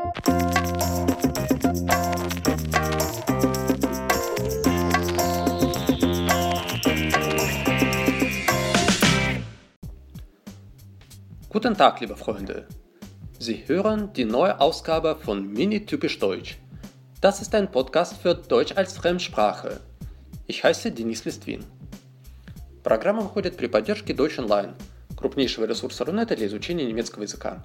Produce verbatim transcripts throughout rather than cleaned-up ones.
Guten Tag, liebe Freunde! Sie hören die neue Ausgabe von Mini Typisch Deutsch. Das ist ein Podcast für Deutsch als Fremdsprache. Ich heiße Денис Листвин. Программа выходит при поддержке Deutsch Online, крупнейшего ресурса Рунета для изучения немецкого языка.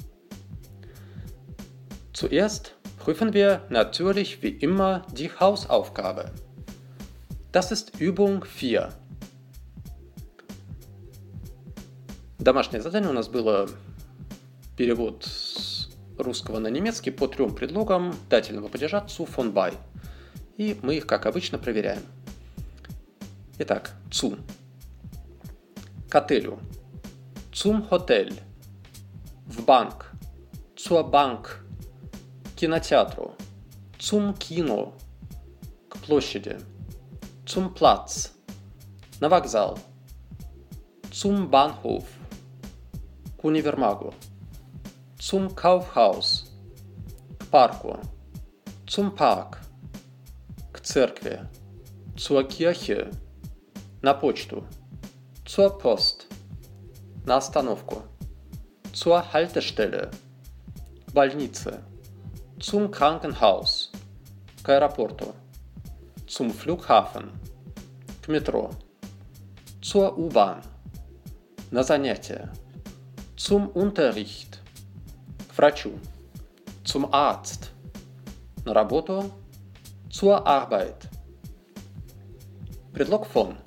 Zuerst prüfen wir natürlich wie immer die Hausaufgabe. Das ist Übung vier. Домашнее задание у нас было перевод с русского на немецкий по трем предлогам дательного падежа zu, von, bei. И мы их, как обычно, проверяем. Итак, zu. К отелю. Zum Hotel. В банк. Zur Bank. К кинотеатру. Zum Kino. К площади. Zum Platz. На вокзал. Zum Bahnhof. К универмагу. Zum Kaufhaus. К парку. Zum Park. К церкви. Zur Kirche. На почту. Zur Post. На остановку. Zur Haltestelle. К больнице. Zum Krankenhaus. К аэропорту. Zum Flughafen. К метро. Zur U-Bahn. На занятия. Zum Unterricht. К врачу. Zum Arzt. На работу. Zur Arbeit. Предлог von.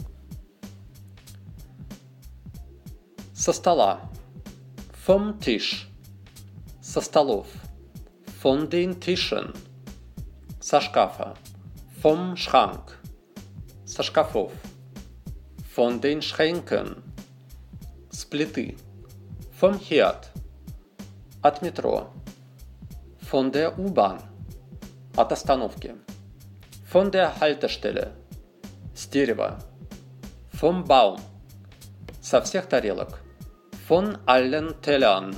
Со стола. Vom Tisch. Со столов. Von den Tischen. Со шкафа. Vom Schrank. Со шкафов. Von den Schränken. С плиты. Vom Herd. От метро. Von der U-Bahn. От остановки. Von der Haltestelle. С дерева. Vom Baum. Со всех тарелок. Von allen Tellern.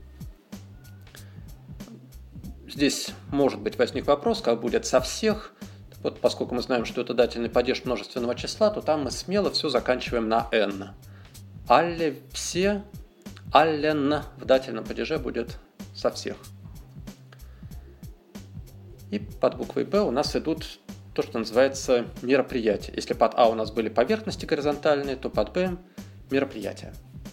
Здесь может быть возник вопрос, как будет со всех. Вот поскольку мы знаем, что это дательный падеж множественного числа, то там мы смело все заканчиваем на n. Alle, все, allen в дательном падеже будет со всех. И под буквой Б у нас идут то, что называется мероприятия. Если под А у нас были поверхности горизонтальные, то под Б мероприятия.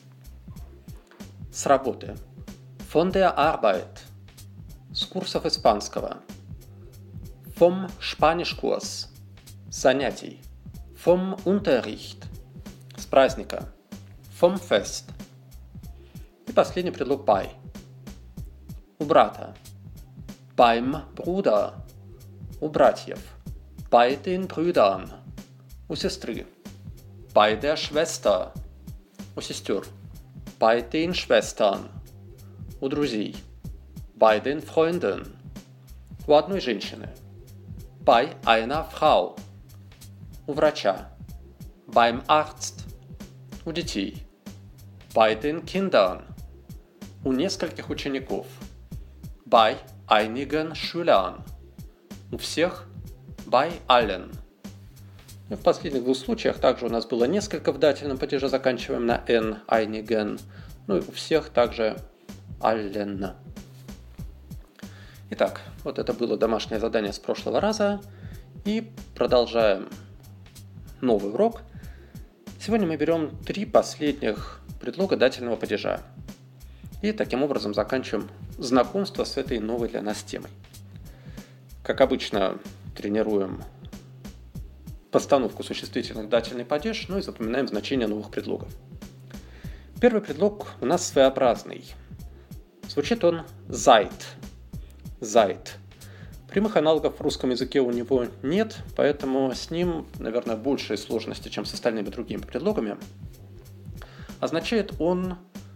С работы. Von der Arbeit. С курсов испанского. Vom Spanischkurs. С занятий. Vom Unterricht. С праздника. Vom Fest. И последний предлог bei. У брата. Beim Bruder. У братьев. Bei den Brüdern. У сестры. Bei der Schwester. У сестер. Bei den Schwestern. У друзей. Bei den Freunden. У одной женщины. Bei einer Frau. У врача. Beim Arzt. У детей. Bei den Kindern. У нескольких учеников. Bei einigen Schülern. У всех. Bei allen. И в последних двух случаях также у нас было несколько в дательном падеже, заканчиваем на n, einigen. Ну и у всех также allen. Итак, вот это было домашнее задание с прошлого раза. И продолжаем новый урок. Сегодня мы берем три последних предлога дательного падежа. И таким образом заканчиваем знакомство с этой новой для нас темой. Как обычно, тренируем постановку существительных в дательный падеж, ну и запоминаем значения новых предлогов. Первый предлог у нас своеобразный. Звучит он seid. Seid. Прямых аналогов в русском языке у него нет, поэтому с ним, наверное, большие сложности, чем с остальными другими предлогами. Означает он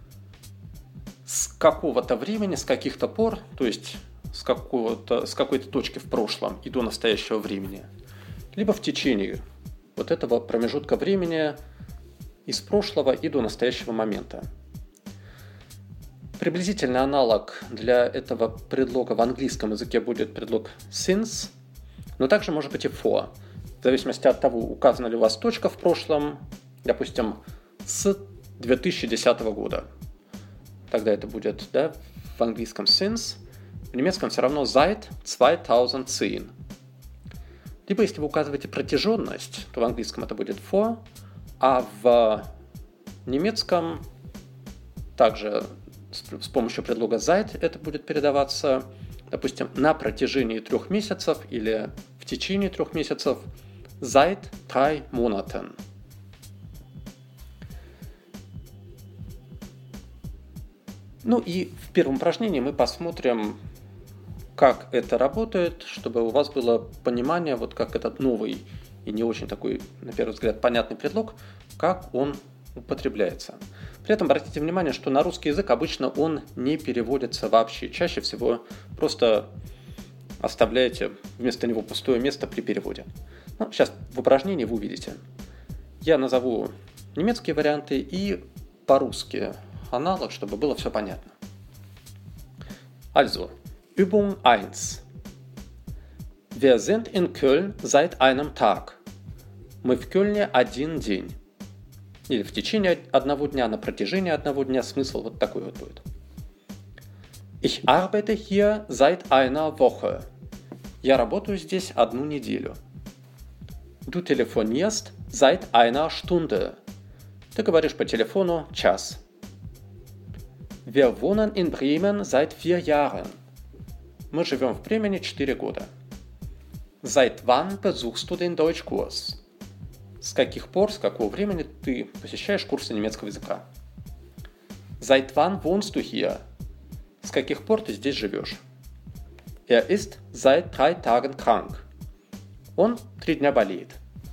с какого-то времени, с каких-то пор, то есть с, какого-то, с какой-то точки в прошлом и до настоящего времени, либо в течение вот этого промежутка времени из прошлого и до настоящего момента. Приблизительный аналог для этого предлога в английском языке будет предлог since, но также может быть и for, в зависимости от того, указана ли у вас точка в прошлом, допустим, с две тысячи десятого года. Тогда это будет, да, в английском since, в немецком все равно seit zweitausendzehn. Либо если вы указываете протяженность, то в английском это будет for, а в немецком также с помощью предлога seit это будет передаваться, допустим, на протяжении трех месяцев или в течение трех месяцев seit drei Monaten. Ну и в первом упражнении мы посмотрим, как это работает, чтобы у вас было понимание, вот как этот новый и не очень такой, на первый взгляд, понятный предлог, как он употребляется. При этом обратите внимание, что на русский язык обычно он не переводится вообще. Чаще всего просто оставляете вместо него пустое место при переводе. Ну, сейчас в упражнении вы увидите. Я назову немецкие варианты и по-русски аналог, чтобы было все понятно. Also, Übung eins. Wir sind in Köln seit einem Tag. Мы в Кёльне один день. Или в течение одного дня, на протяжении одного дня. Смысл вот такой вот будет. Ich arbeite hier seit einer Woche. Я работаю здесь одну неделю. Du telefonierst seit einer Stunde. Ты говоришь по телефону час. Wir wohnen in Bremen seit vier Jahren. Мы живем в Бремене четыре года. Seit wann besuchst du den Deutschkurs? С каких пор, с какого времени ты посещаешь курсы немецкого языка? Seit wann wohnst du hier? С каких пор ты здесь живешь? Er ist seit drei Tagen krank. Он три дня болеет.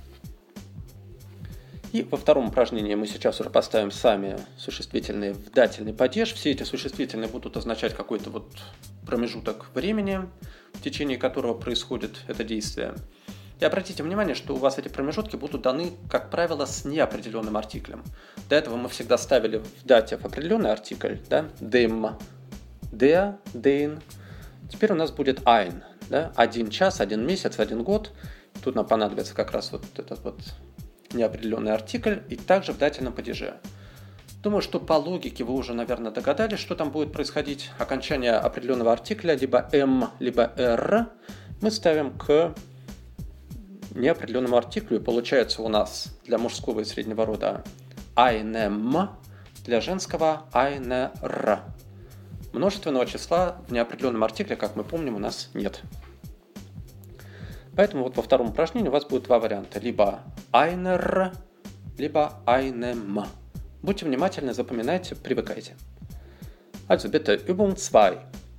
И во втором упражнении мы сейчас уже поставим сами существительные в дательный падеж. Все эти существительные будут означать какой-то вот промежуток времени, в течение которого происходит это действие. И обратите внимание, что у вас эти промежутки будут даны, как правило, с неопределенным артиклем. До этого мы всегда ставили в датив определенный артикль, да, dem, der, den. Теперь у нас будет ein, да, один час, один месяц, один год. Тут нам понадобится как раз вот этот вот неопределенный артикль и также в дательном падеже. Думаю, что по логике вы уже, наверное, догадались, что там будет происходить. Окончание определенного артикля, либо «м», либо «р», мы ставим к неопределенному артиклю, и получается у нас для мужского и среднего рода einem, для женского einer. Множественного числа в неопределенном артикле, как мы помним, у нас нет. Поэтому вот во втором упражнении у вас будет два варианта. Либо einer, либо einem. Будьте внимательны, запоминайте, привыкайте. Also bitte, Übung zwei.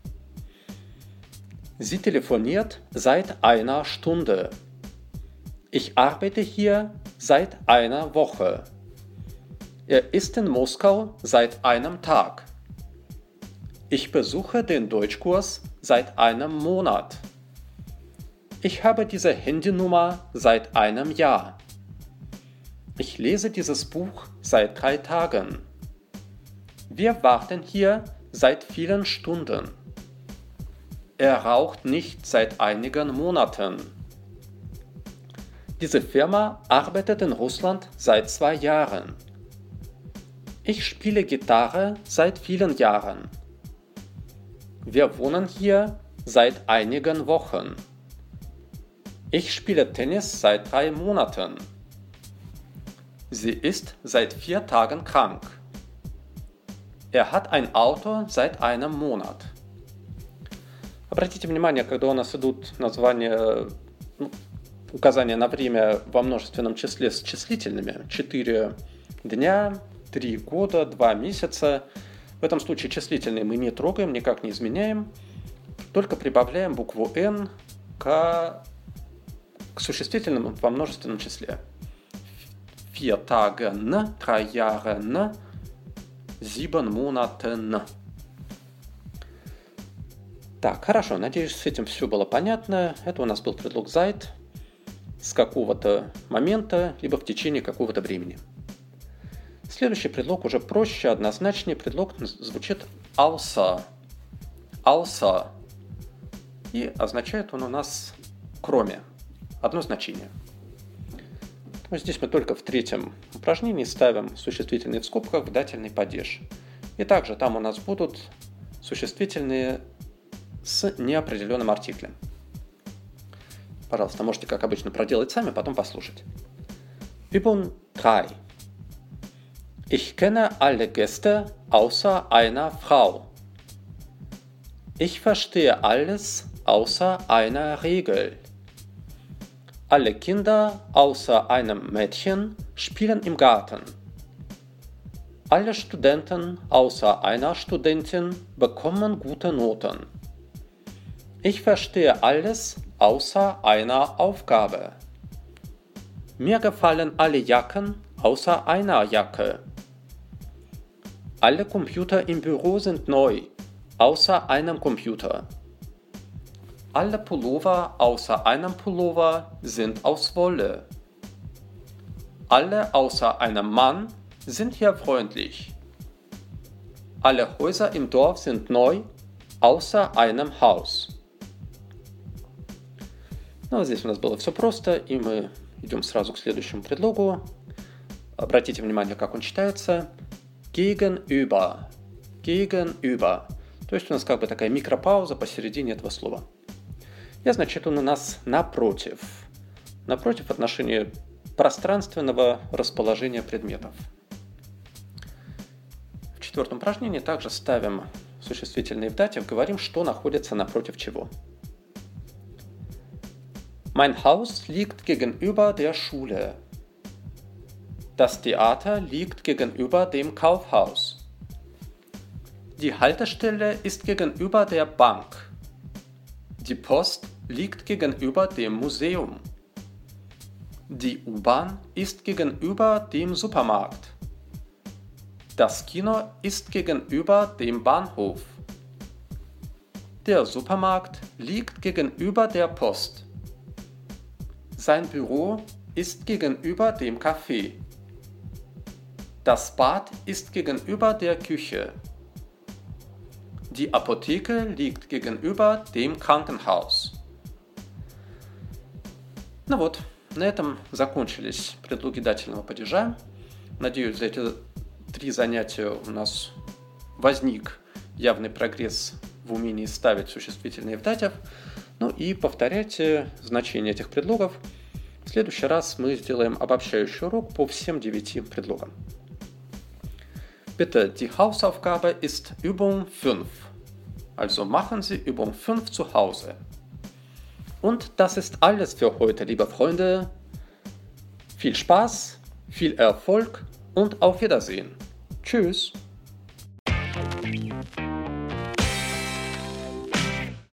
Sie telefoniert seit einer Stunde. Ich arbeite hier seit einer Woche. Er ist in Moskau seit einem Tag. Ich besuche den Deutschkurs seit einem Monat. Ich habe diese Handynummer seit einem Jahr. Ich lese dieses Buch seit drei Tagen. Wir warten hier seit vielen Stunden. Er raucht nicht seit einigen Monaten. Diese Firma arbeitet in Russland seit zwei Jahren. Ich spiele Gitarre seit vielen Jahren. Wir wohnen hier seit einigen Wochen. Ich spiele Tennis seit drei Monaten. Sie ist seit vier Tagen krank. Er hat ein Auto seit einem Monat. Обратите внимание, когда у нас идут названия, ну, указания на время во множественном числе с числительными. четыре дня, три года, два месяца. В этом случае числительные мы не трогаем, никак не изменяем. Только прибавляем букву «н» к, к существительным во множественном числе. Vier Tagen, drei Jahren, sieben Monaten. Так, хорошо, надеюсь, с этим все было понятно. Это у нас был предлог seit с какого-то момента, либо в течение какого-то времени. Следующий предлог уже проще, однозначнее. Предлог звучит außer, außer. И означает он у нас кроме. Одно значение. Но здесь мы только в третьем упражнении ставим существительные в скобках в дательный падеж. И также там у нас будут существительные с неопределенным артиклем. Пожалуйста, можете, как обычно, проделать сами, потом послушать. Übung drei. Ich kenne alle Gäste außer einer Frau. Ich verstehe alles außer einer Regel. Alle Kinder außer einem Mädchen spielen im Garten. Alle Studenten außer einer Studentin bekommen gute Noten. Ich verstehe alles außer einer Aufgabe. Mir gefallen alle Jacken außer einer Jacke. Alle Computer im Büro sind neu, außer einem Computer. Alle Pullover außer einem Pullover sind aus Wolle. Alle außer einem Mann sind hier freundlich. Alle Häuser im Dorf sind neu, außer einem Haus. Ну, здесь у нас было все просто, и мы идем сразу к следующему предлогу. Обратите внимание, как он читается. Gegenüber. Gegenüber. То есть у нас как бы такая микропауза посередине этого слова. И означает он у нас напротив. Напротив в отношении пространственного расположения предметов. В четвертом упражнении также ставим существительные в датив, говорим, что находится напротив чего. Mein Haus liegt gegenüber der Schule. Das Theater liegt gegenüber dem Kaufhaus. Die Haltestelle ist gegenüber der Bank. Die Post liegt gegenüber dem Museum. Die U-Bahn ist gegenüber dem Supermarkt. Das Kino ist gegenüber dem Bahnhof. Der Supermarkt liegt gegenüber der Post. Sein Büro ist gegenüber dem Café. Das Bad ist gegenüber der Küche. Die Apotheke liegt gegenüber dem Krankenhaus. Ну вот, на этом закончились предлоги дательного падежа. Надеюсь, за эти три занятия у нас возник явный прогресс в умении ставить существительные в датив. Ну и повторяйте значение этих предлогов. В следующий раз мы сделаем обобщающий урок по всем девяти предлогам. Bitte, die Hausaufgabe ist Übung fünf. Also machen Sie Übung fünf zu Hause. Und das ist alles für heute, liebe Freunde. Viel Spaß, viel Erfolg und auf Wiedersehen. Tschüss.